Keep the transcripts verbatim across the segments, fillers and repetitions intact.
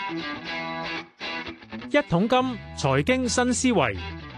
一桶金財經新思維，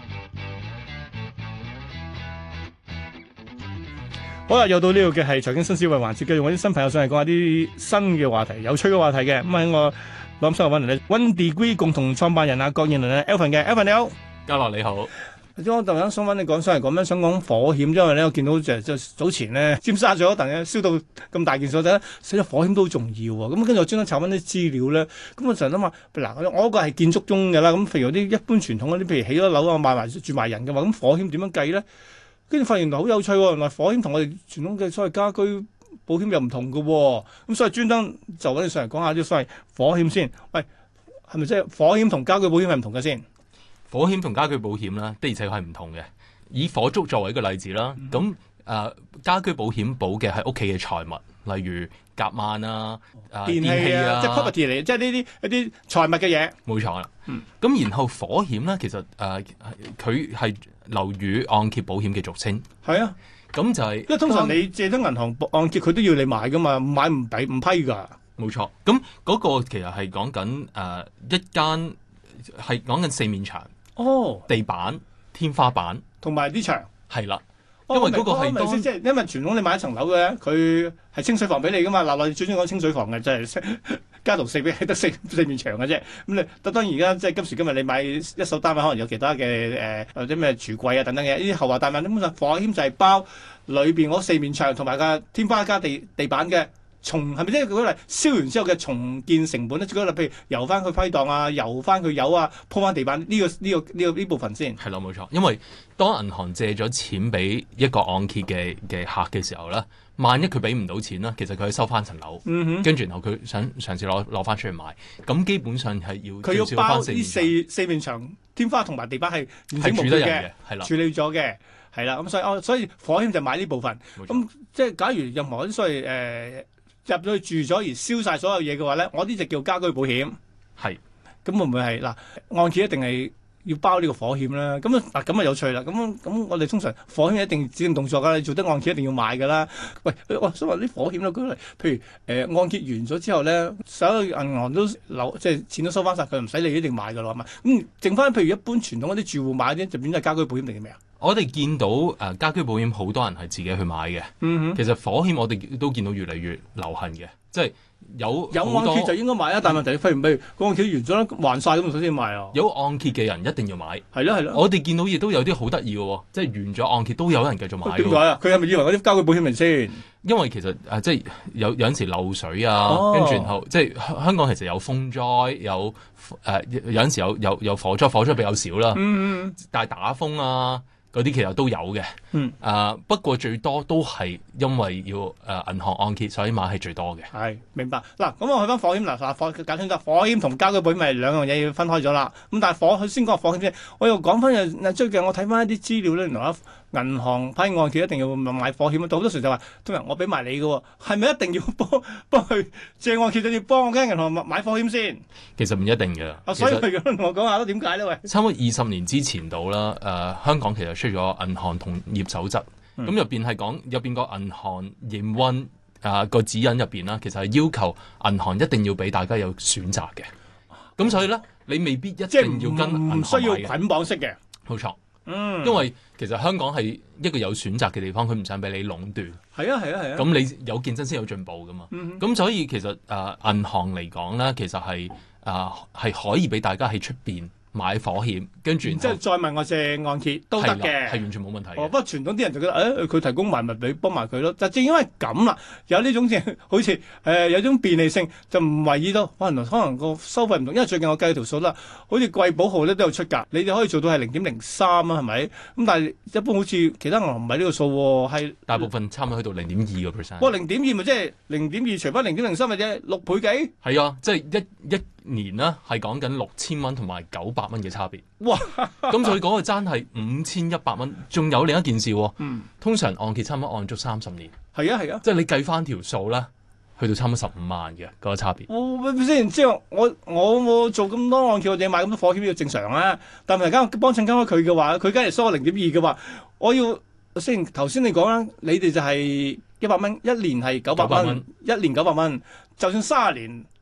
好啦，又到呢度嘅係財經新思維環節，繼續揾啲新朋友上嚟講下啲新嘅話題、有趣嘅話題嘅。咁喺我諗新嘅揾嚟咧，One Degree 共同創辦人啊郭燕麟咧 ，Alvin 嘅 Alvin 你好， 嘉樂你好。 我突然間想揾你講上嚟講咩？想講火險，因為咧我見到就就早前咧尖沙咀嗰陣咧燒到咁大件事咧，死咗火險都好重要喎。咁跟住我專登查翻啲資料咧，咁我成日諗下，嗱我嗰個係建築中嘅啦，咁譬如啲一般傳統嗰啲，譬如起咗樓啊賣埋住埋人嘅話，咁火險點樣計咧？跟住發現原來好有趣喎，原來火險同我哋傳統嘅所謂家居保險又唔同嘅喎，咁所以專登就揾你上嚟講下啲所謂火險先。喂，係咪即係火險同家居保險係唔同嘅先？ 火險同家居保險啦，的而且確係唔同嘅。以火燭作為一個例子啦，咁誒、呃、家居保險保嘅係屋企嘅財物，例如夾萬啊、呃、 電器啊，即係 property 嚟，即係呢啲一啲財物嘅嘢。 冇錯啦。咁、 嗯、 然後火險咧，其實誒佢係樓宇按揭保險嘅俗稱。 係啊， 咁就係、是、 因為通常你借得銀行按揭，佢都要你買噶嘛，買唔俾唔批㗎。 冇錯。咁嗰個其實係講緊誒一間係講緊四面牆。哦，地板、天花板同埋啲牆係啦，因為嗰個係當即係因為傳統你買一層樓嘅，佢係清水房俾你噶嘛。嗱，我哋最中意講清水房嘅，就係、是、家徒四壁得四四面牆嘅啫。咁你當然而家即係今時今日你買一手單位，可能有其他嘅誒或者咩櫥櫃啊等等嘅呢啲後話大問。基本上火險就係包裏邊嗰四面牆同埋個天花加地地板嘅。重係咪即係舉例燒完之後嘅重建成本咧？舉例譬如油翻佢批檔啊，油翻佢油啊，鋪翻地板呢、呢個呢、呢個呢、呢個呢部分先係啦，冇錯。因為當銀行借咗錢俾一個按揭嘅嘅客嘅時候咧，萬一佢俾唔到錢啦，其實佢可以收翻層樓，跟住、嗯、然後佢想嘗試攞攞翻出去賣，咁基本上係要佢要包呢四四面牆、天花同埋地板係完整無缺嘅， 係啦， 處理咗嘅，係啦。咁所以哦，所以火險就買呢部分。咁即係假如任何啲所謂誒。呃入咗去住咗而燒晒所有嘢嘅話咧，我呢就叫家居保險。係，咁會唔會係嗱按揭一定係要包呢個火險咧？咁啊嗱咁啊有趣啦。咁咁我哋通常火險一定指定動作噶，你做得按揭一定要買噶啦。喂，我想話啲火險咧，舉例，譬如誒、呃、按揭完咗之後咧，所有銀行都留即係錢都收翻晒，佢唔使你一定買噶啦嘛。咁剩翻譬如一般傳統嗰啲住戶買啲，就變咗係家居保險定係咩啊？ 我哋見到誒、呃、家居保險好多人係自己去買嘅，嗯、哼其實火險我哋都見到越嚟越流行嘅，即係有有按揭就應該買啊，但係問題譬如譬如按揭完咗啦，還晒咁，首先買啊。 有按揭嘅人一定要買， 係咯係咯。 我哋見到亦都有啲好得意嘅喎，即係完咗按揭都有人繼續買。點解啊？ 佢係咪以為嗰啲家居保險嚟先？ 因為其實誒、呃、即係有有陣時漏水啊，跟住、哦、然後即係香港其實有風災，有誒、呃、有陣時有有有火災，火災比較少啦。嗯嗯。但係打風啊。嗰啲其實都有嘅，嗯，誒、呃、不過最多都係因為要誒、呃、銀行按揭，所以買係最多嘅。係明白嗱，咁我去翻火險嗱，嗱火簡單啲，火險同家居保險咪兩樣嘢要分開咗啦。咁但係火佢先講火險先，我又講翻又最近我睇翻一啲資料咧，原來銀行批按揭一定要買火險啊，好多時就話通常我俾埋你嘅喎，係咪一定要幫幫佢借按揭就要幫我間銀行買火險先？ 其實唔一定嘅。 啊，所以佢咁同我講下咯，點解咧？喂， 差唔多二十年之前到啦，誒、呃、香港其實出咗銀行同業守則，咁入邊係講入邊個銀行營運啊個指引入邊啦，其實係要求銀行一定要俾大家有選擇嘅。咁所以咧，你未必一定要跟銀行買嘅，唔需要捆綁式嘅，冇錯。嗯，因為其實香港係一個有選擇嘅地方，佢唔想俾你壟斷。係啊，係啊，係啊。咁你有競爭先有進步噶嘛？咁、嗯、哼所以其實誒、呃、銀行嚟講咧，其實係誒係可以俾大家喺出邊買火險，跟住即係再問我借按揭都得嘅，係完全冇問題。哦，不過傳統啲人就覺得誒，佢、哎、提供埋咪俾幫埋佢咯。就正因為咁啦，有呢種嘅好似誒、呃、有種便利性，就唔為意到可能可能個收費唔同。因為最近我計條數啦，好似貴寶號咧都有出價，你哋可以做到係零點零三啊，係咪？咁但係一般好似其他銀行唔係呢個數喎，係大部分差唔多去到零點二個 percent。哇，零點二咪即係零點二除翻零點零三咪即係六倍幾？係啊，即係一一。年啦，係講緊六千蚊同埋九百蚊嘅差別。哇！咁所以嗰個爭係五千一百蚊。仲有另一件事喎，嗯、通常按揭差唔多按足三十年。係啊係啊，即係你計翻條數啦，去到差唔多十五萬嘅嗰、嗰個差別。哦，先即係我我我做咁多按揭，我哋買咁多火險要正常啊。但係而家幫襯緊佢嘅話，佢梗係收我零點二嘅話，我要先頭先你講啦，你哋就係一百蚊，一年係九百蚊，一年九百蚊，就算三十年。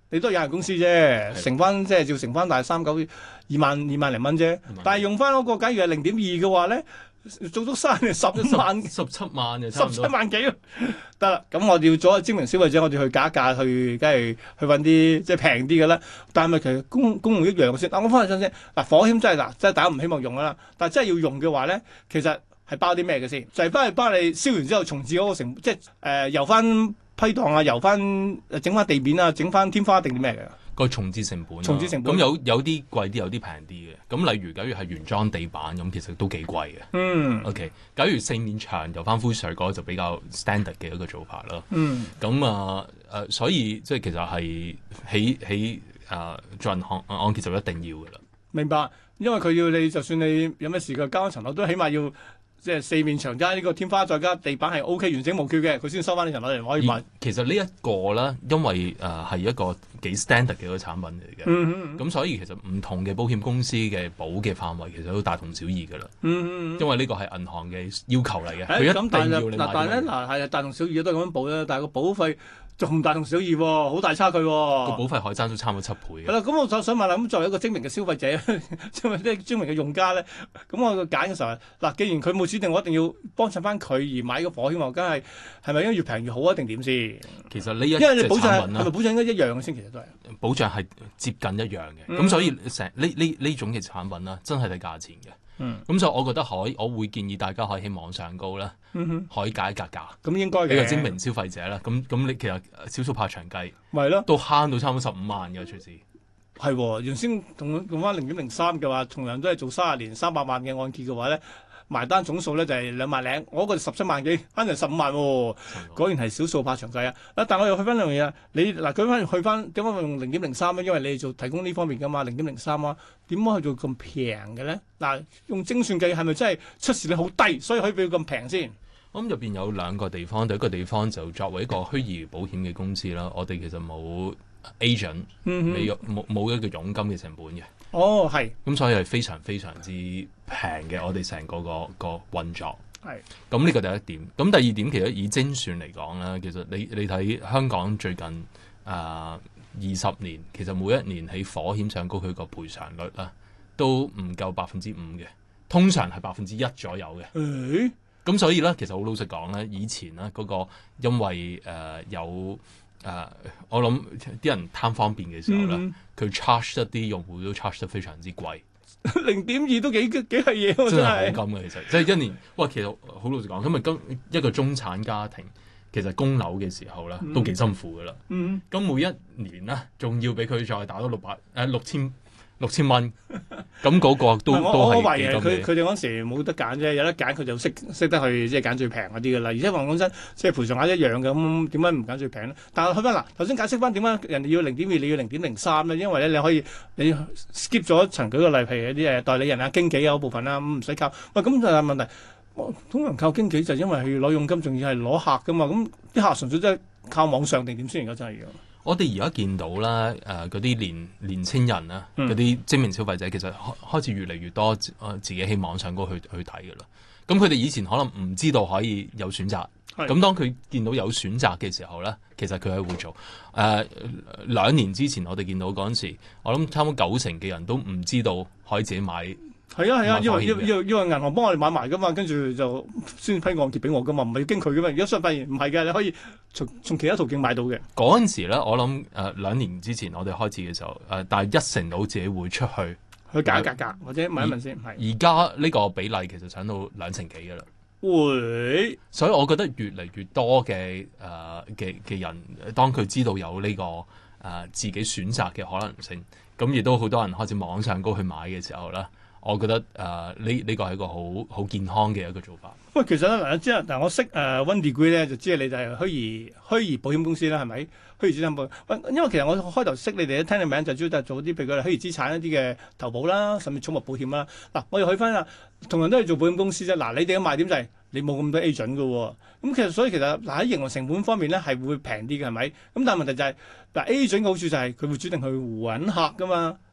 你都係有限公司啫，乘翻即係照乘翻大三九二萬二萬零蚊啫。但係用翻嗰個假如係零點二嘅話咧，做足三年十萬十七萬嘅， 十七萬幾得啦。咁我哋要做一個精明消費者，我哋去價一價去，梗係去揾啲即係平啲嘅啦。但係咪其實功功用一樣先？嗱，我翻去先先嗱，火險真係嗱，真係大家唔希望用噶啦。但係真係要用嘅話咧，其實係包啲咩嘅先？就係翻去幫你燒完之後重置嗰個成，即係誒油翻批盪啊，油翻整翻地面啊，整翻天花定啲咩嘅？ 個重置成本、啊， 重置成本咁有有啲貴啲，有啲平啲嘅。咁例如，假如係原裝地板咁，其實都幾貴嘅。嗯。OK，假如四面牆油翻灰水嗰就比較 standard 嘅一個做法啦。嗯。咁啊誒，所以即係其實係起起誒做銀行按揭就一定要嘅啦。 明白，因為佢要你，就算你有咩事嘅交一層樓，都起碼要。即係四面牆加呢個天花，再加地板係 O K 完整無缺嘅，佢先收翻呢層樓嚟可以賣。 其實呢一個咧，因為誒係、呃、一個幾 standard 嘅一個產品嚟嘅，咁、嗯嗯、所以其實唔同嘅保險公司嘅保嘅範圍其實都大同小異㗎啦。嗯嗯、因為呢個係銀行嘅要求嚟嘅，佢、欸、一定要你買。嗱，但係咧，嗱係啊，大同小異都係咁樣保啦，但係個保費仲大同小異喎，好大差距喎。個保費可以爭到差唔多七倍嘅。 係啦，咁我就想問啦，咁作為一個精明嘅消費者，即係啲精明嘅用家咧，咁我揀嘅時候，嗱，既然佢冇指定我一定要幫襯翻佢而買個火險，我梗係係咪應該越平越好啊？定點先？ 其實呢一因為你保障係係咪保障應該一樣嘅先？其實都係保障係接近一樣嘅，咁、嗯、所以成呢呢呢種嘅產品啦，真係睇價錢嘅。咁、嗯、所以我覺得可以，我會建議大家可以喺網上高啦，嗯、哼可以價一格價。咁應該嘅。俾個精明消費者啦，咁咁你其實少數怕長計，咪咯，都慳到差唔多十五萬嘅隨時。係喎，原先同用翻零點零三嘅話，同樣都係做三十年三百萬嘅按揭嘅話咧。埋單總數咧就係兩萬零，我嗰個十七萬幾，慳成十五萬喎，果然係少數怕長計啊！啊，但我又去翻兩樣嘢，你嗱，佢翻去翻點解用零點零三咧？因為你哋做提供呢方面噶嘛，零點零三啊，點解去做咁平嘅咧？嗱，用精算計係咪真係出事率好低，所以可以俾佢咁平先？ 我諗入邊有兩個地方，第一個地方就作為一個虛擬保險嘅公司啦，我哋其實冇 agent，冇冇冇一個佣金嘅成本嘅。哦，係。咁所以係非常非常之平嘅，我哋成個個個運作。係。咁呢個第一點。咁第二點其實以精算嚟講咧，其實你你睇香港最近啊二十年，其實每一年喺火險上高佢個賠償率啦，都唔夠百分之五嘅，通常係百分之一左右嘅。誒、欸。咁所以咧，其實好老實講咧，以前咧嗰個因為誒、呃、有誒、呃，我諗啲人貪方便嘅時候咧，佢、嗯、charge 一啲用戶都 charge 得非常之貴，零點二都幾幾係嘢喎，真係好金嘅其實，即係一年。喂，其實好老實講，因為今一個中產家庭其實供樓嘅時候咧，都幾辛苦噶啦。嗯，咁每一年咧，仲要俾佢再打多六百誒六千。六千蚊，咁嗰個都我都係懷疑佢佢哋嗰時冇得揀啫，有得揀佢就識識得去即係揀最平嗰啲噶啦。而且話講真，即係賠償額一樣嘅，咁點解唔揀最平咧？但係去翻嗱，頭先解釋翻點解人哋要零點二，你要零點零三咧？因為咧你可以你 skip 咗一層，舉個例，譬如啲誒代理人啊、經紀啊嗰部分啦，咁唔使靠。喂，咁就係問題，通常靠經紀就因為佢要攞佣金，仲要係攞客噶嘛。咁啲客純粹真係靠網上定點先？而家真係要。 我哋而家見到啦，誒嗰啲年年青人啊，嗰啲精明消費者其實開開始越嚟越多，誒、呃、自己喺網上嗰去去睇嘅啦。咁佢哋以前可能唔知道可以有選擇，咁當佢見到有選擇嘅時候咧，其實佢係會做。誒、呃、兩年之前我哋見到嗰陣時，我諗差唔多九成嘅人都唔知道可以自己買。係啊係啊，因為要要要銀行幫我哋買埋噶嘛，跟住就先批按揭俾我噶嘛，唔係要經佢噶嘛。而家相反唔係嘅，你可以從從其他途徑買到嘅。嗰陣時咧，我諗誒兩年之前我哋開始嘅時候，誒、呃、但係一成到自己會出去去價格價或者問一問先。係而家呢個比例其實上到兩成幾噶啦。會，所以我覺得越嚟越多嘅誒嘅嘅人，當佢知道有呢、這個誒、呃、自己選擇嘅可能性，咁亦都好多人開始網上高去買嘅時候咧。我覺得誒呢呢個係一個好好健康嘅一個做法。喂，其實咧嗱，即係嗱，我識誒 One Degree 咧，就知係你就係虛擬虛擬保險公司啦，係咪？虛擬資產保險。喂，因為其實我開頭識你哋，聽你名就主要就係做啲譬如佢虛擬資產一啲嘅投保啦，甚至寵物保險啦。嗱，我又去翻啦，同樣都係做保險公司啫。嗱，你哋嘅賣點就係你冇咁多 agent 嘅喎。咁其實所以其實嗱喺營運成本方面咧係會平啲嘅，係咪？咁但係問題就係嗱 agent 嘅好處就係佢會主定去揾客噶嘛。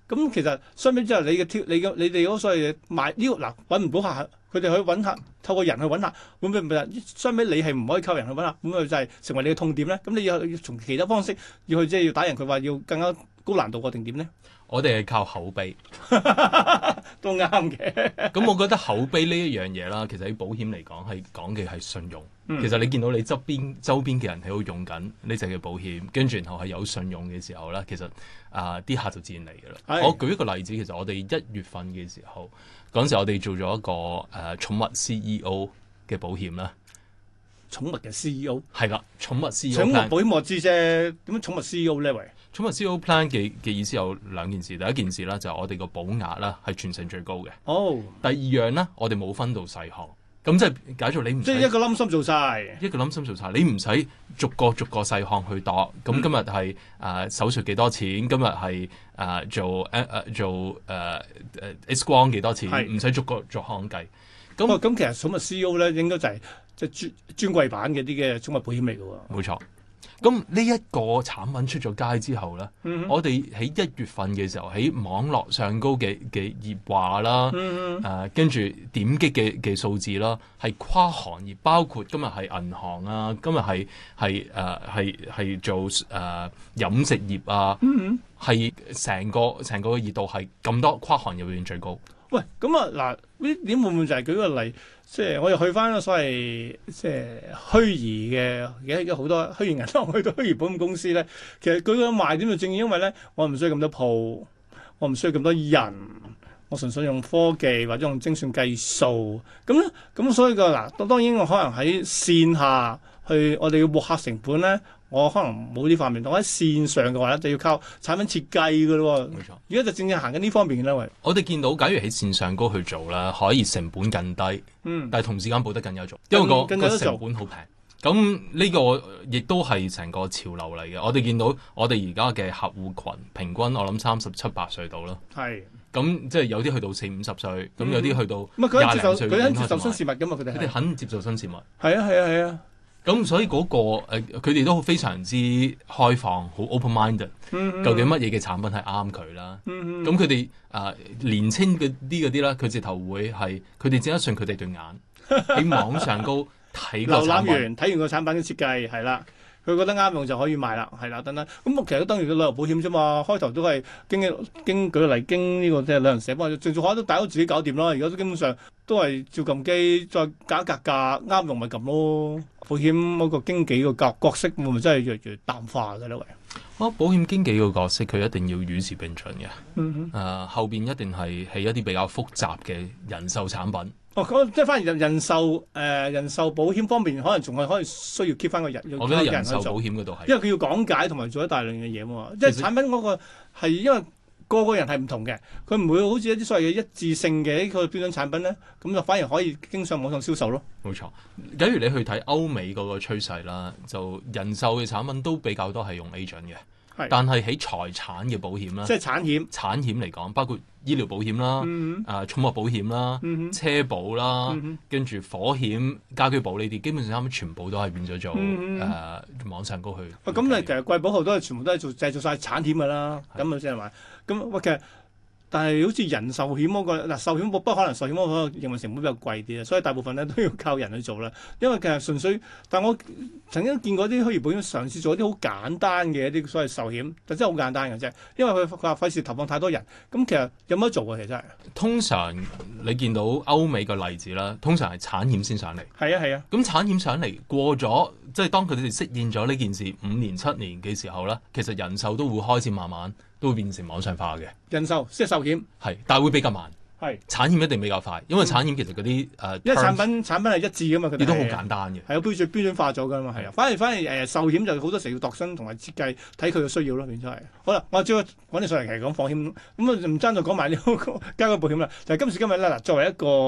咁其實相比之下，你嘅挑你嘅你哋嗰所謂賣呢個嗱揾唔到客，佢哋去揾客，透過人去揾客，會唔會唔係相比你係唔可以靠人去揾客，咁佢就係成為你嘅痛點咧？咁你要要從其他方式要去即係要打人，佢話要更加高難度個定點咧？ 我哋係靠口碑， 都啱嘅。 咁我覺得口碑呢一樣嘢啦，其實喺保險嚟講係講嘅係信用。嗯、其實你見到你側邊周邊嘅人喺度用緊呢隻嘅保險，跟住然後係有信用嘅時候咧，其實啊啲、呃、客就自然嚟㗎啦。我舉一個例子，其實我哋一月份嘅時候，嗰陣時我哋做咗一個誒、呃、寵物 C E O 嘅保險啦。 寵物嘅 C E O 係啦，寵物 C E O。 寵物保險我知啫，點樣寵物 C E O 呢？喂，寵物 C E O plan 嘅嘅意思有兩件事，第一件事啦就係我哋個保額啦係全城最高嘅。 哦，第二樣咧我哋冇分到細項，咁即係假如你唔即係一個冧心做晒， 一個冧心做晒，你唔使逐個逐個細項去度。咁、嗯、今日係誒手術幾多錢？今日係誒做誒誒、呃、做誒誒、呃、X 光幾多錢？唔使逐個逐項計。咁咁、 哦、其實寵物 C E O 咧應該就係即係專專櫃版嘅啲嘅寵物保險嚟㗎喎。 冇錯。咁呢一個產品出咗街之後咧，嗯、我哋喺一月份嘅時候喺網絡上高嘅嘅熱話啦，誒跟住點擊嘅嘅數字啦，係跨行業，包括今日係銀行啊，今日係係誒係係做誒、呃、飲食業啊，係成、嗯、個成個熱度係咁多跨行業裏面最高。 喂，咁啊嗱，呢點會唔會就係舉個例，即係我又去翻所謂即係虛擬嘅，而家好多虛擬銀行去到虛擬保險公司咧，其實佢個賣點就正因為咧，我唔需要咁多鋪，我唔需要咁多人，我純粹用科技或者用精算計數，咁咧，咁所以個嗱，當然我可能喺線下去，我哋要獲客成本咧。我可能冇呢方面，我喺線上嘅話咧，就要靠產品設計嘅咯。冇錯，而家就正正行緊呢方面嘅啦。喂， 我哋見到，假如喺線上高去做啦，可以成本更低，嗯，但係同時間保得更有做，因為個個成本好平。咁呢個亦都係成個潮流嚟嘅。我哋見到我哋而家嘅客戶群平均，我諗三十七八歲到啦。係。咁即係有啲去到四五十歲，咁有啲去到廿零歲。 佢肯接受新事物㗎嘛？佢哋佢哋肯接受新事物。 係啊係啊係啊。 咁所以嗰、那個佢哋、呃、都非常之開放，好 open-minded、嗯。究竟乜嘢嘅產品係啱佢啦？咁佢哋誒年青嘅啲嗰啲啦，佢直頭會係佢哋只得信佢哋對眼喺網上高睇個產品，瀏覽完睇完個產品嘅設計係啦，佢覺得啱用就可以買啦，係啦，等等。咁其實都等於個旅遊保險啫嘛。開頭都係經經舉例經呢、這個即係旅行社幫，最最可都大家都自己搞掂啦。而家都基本上都係照撳機再價格價啱用咪撳咯。保險嗰個經紀個角角色會唔會真係越嚟越淡化嘅咧？喂， 哦，保險經紀個角色佢一定要與時並進嘅。嗯哼，誒、呃、後邊一定係係一啲比較複雜嘅人壽產品。 哦，咁即係反而人人壽誒、呃、人壽保險方面，可能仲係可以需要 keep 翻個人。 我覺得人壽保險嗰度係， 因為佢要講解同埋做一大量嘅嘢嘛。即係產品嗰個係因為。個個人係唔同嘅，佢唔會好似一啲所謂嘅一致性嘅一個標準產品咧，咁就反而可以經上網上銷售咯。 冇錯，假如你去睇歐美嗰個趨勢啦，就人壽嘅產品都比較多係用 agent 嘅，係但係喺財產嘅保險啦， 即係產險， 產險嚟講，包括醫療保險啦，嗯、啊寵物保險啦，嗯、車保啦，嗯、跟住火險、家居保呢啲，基本上全部都係變咗做誒、嗯呃、網上高去。 喂、啊，咁你其實貴保號都係全部都係做製造晒產險㗎啦，咁啊即係話。咁喂，其實但係好似人壽險嗰、那個嗱，壽險不不可能壽險嗰個營運成本比較貴啲啊，所以大部分咧都要靠人去做啦。因為其實純粹，但我曾經見過啲虛擬保險嘗試做一啲好簡單嘅一啲所謂壽險，就真係好簡單嘅啫。因為佢佢話費事投放太多人，咁其實有乜得做啊？其實真係。通常你見到歐美個例子啦，通常係產險先上嚟。 係啊係啊。咁、 啊、產險上嚟過咗，即係當佢哋適應咗呢件事五年七年嘅時候咧，其實人壽都會開始慢慢。都會變成網上化嘅人壽，即係壽險， 係，但係會比較慢。 係產險一定比較快，因為產險其實嗰啲誒， 嗯、因為產品產品係一致噶嘛，佢哋都好簡單嘅， 係有標準標準化咗噶嘛，係啊。反而反而誒、呃、壽險就好多時要度身同埋設計，睇佢嘅需要咯，變咗係。好啦，我主要揾你上嚟其實講放險，咁啊唔爭再講埋呢個家居保險啦。就係、是、今時今日咧嗱，作為一個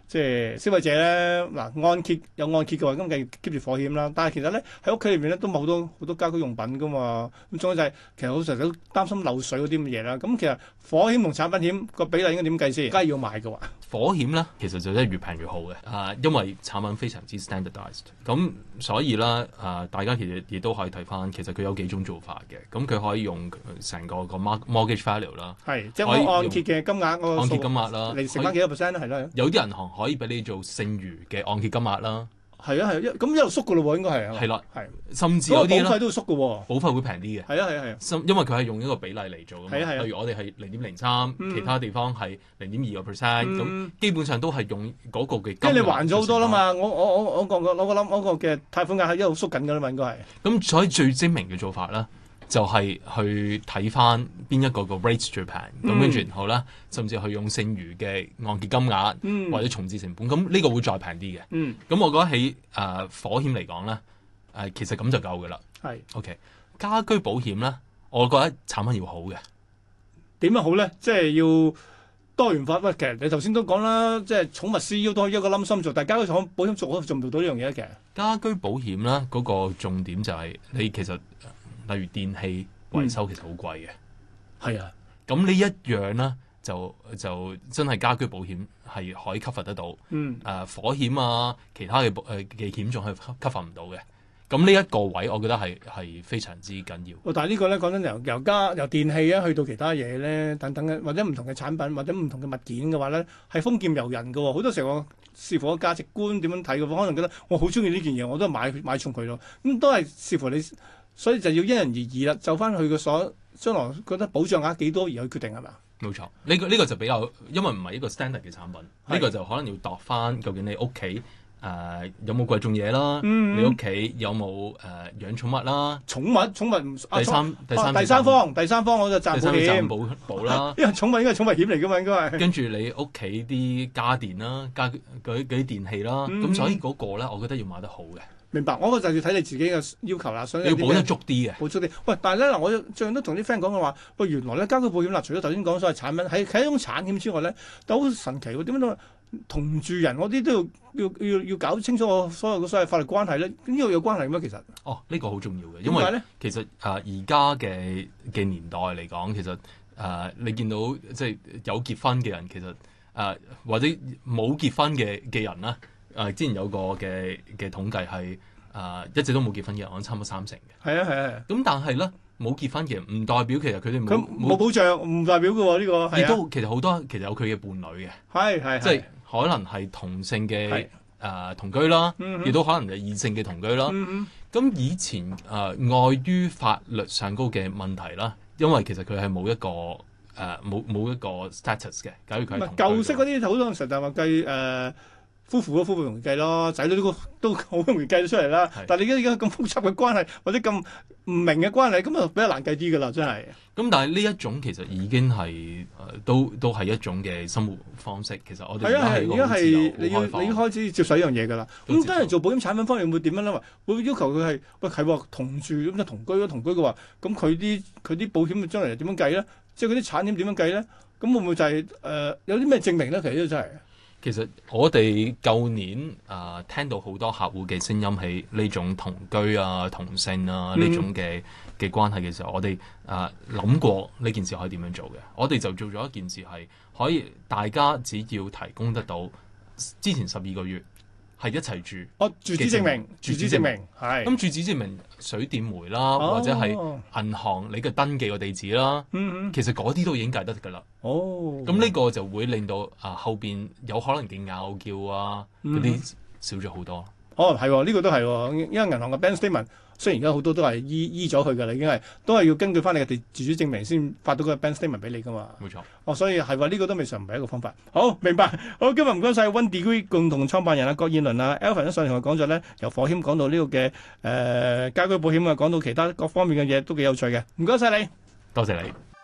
即係消費者咧，嗱按揭有按揭嘅話，咁梗係 keep 住火險啦。但係其實咧喺屋企裏面咧都冇好多好多家居用品噶嘛。咁仲有就係、是、其實好成日都擔心漏水嗰啲咁嘅嘢啦。咁其實火險同產品險個比例應該點計先？梗係要買嘅話， 火險咧其實就真係越平越好嘅。啊，因為產品非常之 standardized，咁所以啦啊，大家其實亦都可以睇翻，其實佢有幾種做法嘅。咁佢可以用成個個 mortgage value 啦， 係即係按揭嘅金額，個按揭金額啦， 嚟乘翻幾多 percent 咧？係啦， 有啲銀行可以俾你做剩餘嘅按揭金額啦。 係啊係啊，咁一路縮嘅咯喎，應該係啊。係啦， 係， 甚至有啲保費都會縮嘅喎， 保費會平啲嘅。 係啊係啊係啊， 因為佢係用一個比例嚟做嘅嘛。 係啊係啊， 例如我哋係零點零三，其他地方係零點二個 percent，咁基本上都係用嗰個嘅金額。 即係你還咗好多啦嘛，我我我我個我個諗我個嘅貸款額係一路縮緊嘅啦嘛，應該係。咁所以最精明嘅做法咧，就係去睇翻邊一個個 rate 最平，咁跟住然後咧，甚至去用剩餘嘅按揭金額、嗯、或者重置成本，咁呢個會再平啲嘅。咁、嗯、我覺得喺誒、呃、火險嚟講咧，誒、呃、其實咁就夠㗎啦。係 OK，家居保險咧，我覺得產品要好嘅。點樣好咧？即係要多元化。喂，其實你頭先都講啦，即係寵物 C U 都一個冧心做，但係家居保險做做唔做到呢樣嘢咧？其實家居保險咧，嗰、那個重點就係你其實。例如電器維修其實好貴嘅，係、嗯、啊，咁呢一樣咧就就真係家居保險係可以 cover 得到，嗯，誒、呃、火險啊，其他嘅誒嘅險種係 cover 唔到嘅，咁呢一個位我覺得係係非常之緊要。哦、但係呢個咧講真由由家由電器啊去到其他嘢咧等等嘅或者唔同嘅產品或者唔同嘅物件嘅話咧係豐儉由人嘅喎，好多時候我視乎個價值觀點樣睇嘅，可能覺得我好中意呢件嘢，我都買買重佢咯，咁都係視乎你。所以就要因人而異啦，就翻佢個所將來覺得保障額幾多而去決定係咪？冇錯，呢、這個呢、這個就比較，因為唔係一個 standard 嘅產品，呢、這個就可能要度翻究竟你屋企誒有冇貴重嘢啦，嗯、你屋企有冇誒、呃、養寵物啦？寵物寵物唔第三、啊、第三第三方第三方我就賺保險保保啦，因為寵物應該係寵物險嚟㗎嘛，應該係。跟住你屋企啲家電啦，家嗰啲電器啦，咁、嗯、所以嗰個咧，我覺得要買得好嘅。明白，我個就要睇你自己嘅要求啦。所以你要保得足啲嘅，保足啲。喂，但係咧嗱，我最近都同啲 friend 講嘅話，喂，原來咧家居保險嗱，除咗頭先講所謂產品，係係一種產險之外咧，都好神奇喎。點解都同住人嗰啲都要要要要搞清楚我所有嘅所謂法律關係咧？呢個有關係咩？其實哦，呢、這個好重要嘅，因為咧，其實啊，而家嘅嘅年代嚟講，其實啊、呃，你見到即係有結婚嘅人，其實啊、呃，或者冇結婚嘅嘅人啦。誒、呃、之前有個嘅嘅統計係誒、呃、一直都冇結婚嘅人，我諗差唔多三成嘅。係啊係啊。咁但係咧冇結婚嘅人唔代表其實佢哋冇冇保障，唔代表嘅喎呢個。亦都其實好多其實有佢嘅伴侶嘅。係係。即係可能係同性嘅誒、呃、同居啦，亦、嗯、都可能係異性嘅同居啦。咁、嗯、以前誒礙、呃、於法律上高嘅問題啦，因為其實佢係冇一個誒冇冇一個 status 嘅。假如佢係舊式嗰啲好多時就話計誒。夫婦都夫婦容易計咯，仔女都都好容易計到出嚟啦。但係你而家而家咁複雜嘅關係，或者咁唔明嘅關係，咁啊比較難計啲㗎啦，真係。咁但係呢一種其實已經係誒、呃、都都係一種嘅生活方式。其實我哋係啊係，而家係你要你要開始接受呢樣嘢㗎啦。咁當然做保險產品方面會點樣咧？會要求佢係喂係喎同住咁就同居咯，同居嘅話，咁佢啲佢啲保險將來點樣計咧？即係嗰啲產險點樣計咧？咁會唔會就係、是、誒、呃、有啲咩證明咧？其實都真係。其實我哋舊年啊、呃、聽到好多客戶嘅聲音喺呢種同居啊、同性啊呢、嗯、種嘅嘅關係嘅時候，我哋啊諗過呢件事可以點樣做嘅。我哋就做咗一件事係可以大家只要提供得到之前十二個月係一齊住。哦，住址證明，住址證明係。咁住址證明水電煤啦，哦、或者係銀行你嘅登記個地址啦。嗯嗯，其實嗰啲都已經計得㗎啦。哦，咁呢個就會令到啊後邊有可能嘅拗撬啊嗰啲、嗯、少咗好多。哦，係喎，呢、這個都係喎，因為銀行嘅 bank statement 雖然而家好多都係醫醫咗佢㗎啦，已經係都係要根據翻你嘅地住址證明先發到個 bank statement 俾你㗎嘛。冇錯。哦，所以係話呢個都未嘗唔係一個方法。好，明白。好，今日唔該晒 One Degree 共同創辦人啊郭燕倫啊 Alvin 上嚟同我講咗咧，由火險講到呢個嘅誒、呃、家居保險啊，講到其他各方面嘅嘢都幾有趣嘅。唔該晒你。多謝你。